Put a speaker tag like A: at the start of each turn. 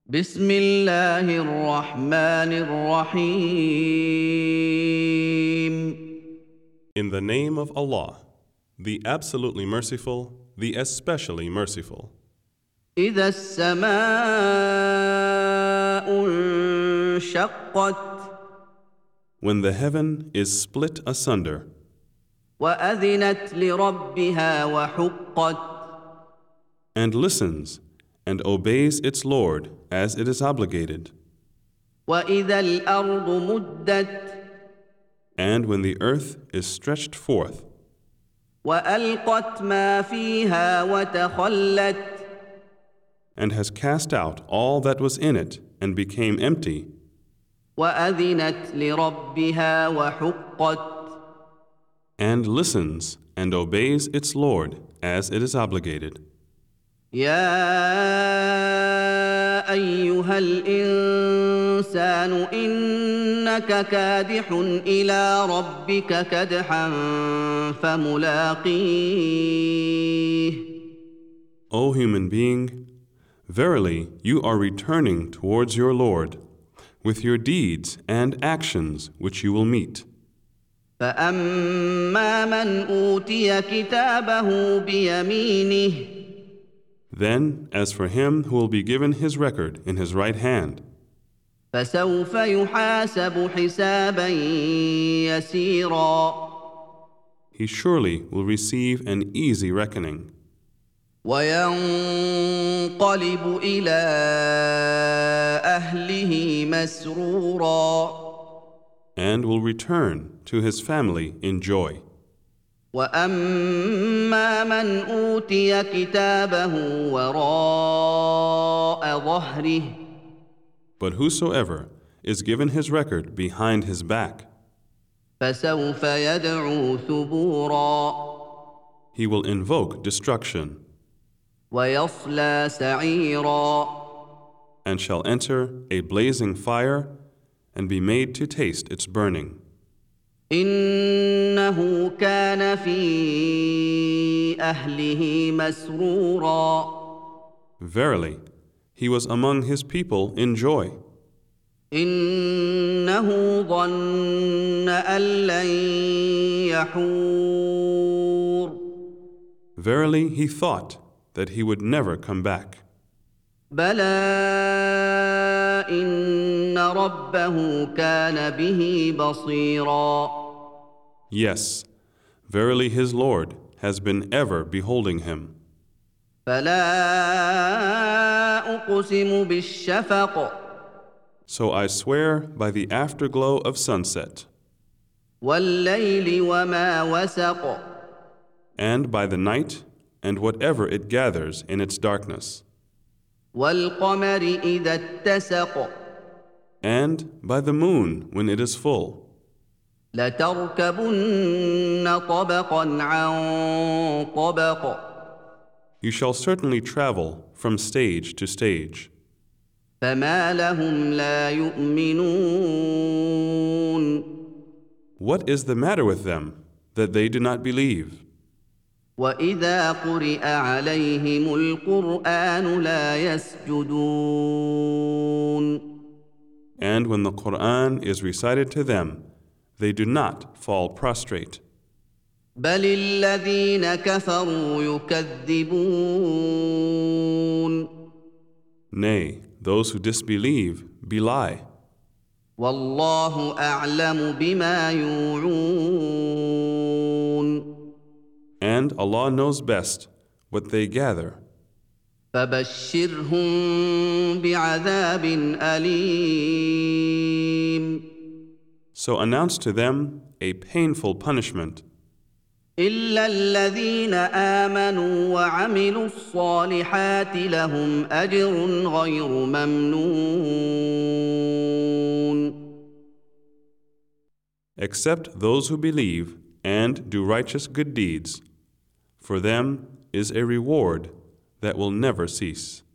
A: بسم الله الرحمن الرحيم.
B: In the name of Allah, the absolutely merciful, the especially merciful.
A: إذا السماء انشقت
B: When the heaven is split asunder
A: وأذنت لربها وحقت
B: and listens and obeys its Lord as it is obligated,
A: وإذا الأرض مدت
B: and when the earth is stretched forth
A: وألقت ما فيها وتخلت
B: and has cast out all that was in it and became empty,
A: وأذنت لربها وحقت
B: and listens and obeys its Lord as it is obligated.
A: يا أيها الإنسان إنك كادح إلى ربك كدحا فملاقيه.
B: O human being, verily you are returning towards your Lord with your deeds and actions which you will meet.
A: فأما من أوتي كتابه بيمينه
B: Then, as for him who will be given his record in his right hand,
A: فسوف يحاسب حسابا يسيرا
B: he surely will receive an easy reckoning,
A: وينقلب إلى أهله مسرورا
B: and will return to his family in joy.
A: وأما من أوتي كتابه وراء ظهره
B: But whosoever is given his record behind his back,
A: فسوف يدعو ثبورا
B: he will invoke destruction
A: ويصلى سعيرا
B: and shall enter a blazing fire and be made to taste its burning.
A: إنه كان في أهله مسرورا
B: Verily, he was among his people in joy.
A: إنه ظن أن لن يحور
B: Verily, he thought that he would never come back.
A: بلى إن ربه كان به بصيرا
B: Yes, verily his Lord has been ever beholding him.
A: فلا أقسم بالشفق
B: So I swear by the afterglow of sunset,
A: والليل وما وسق
B: and by the night and whatever it gathers in its darkness,
A: والقمر إذا اتسق
B: and by the moon when it is full.
A: لتركبن طبقا عن طبق
B: You shall certainly travel from stage to stage.
A: فما لهم لا يؤمنون
B: What is the matter with them that they do not believe?
A: وإذا قرئ عليهم القرآن لا يسجدون
B: And when the Quran is recited to them, they do not fall prostrate.
A: بل الذين كفروا يكذبون
B: Nay, those who disbelieve belie,
A: والله أعلم بما يوعون
B: and Allah knows best what they gather.
A: فبشرهم بعذاب أليم
B: So announce to them a painful punishment,
A: إلا الذين آمنوا وعملوا الصالحات لهم أجر غير ممنون
B: except those who believe and do righteous good deeds. For them is a reward that will never cease.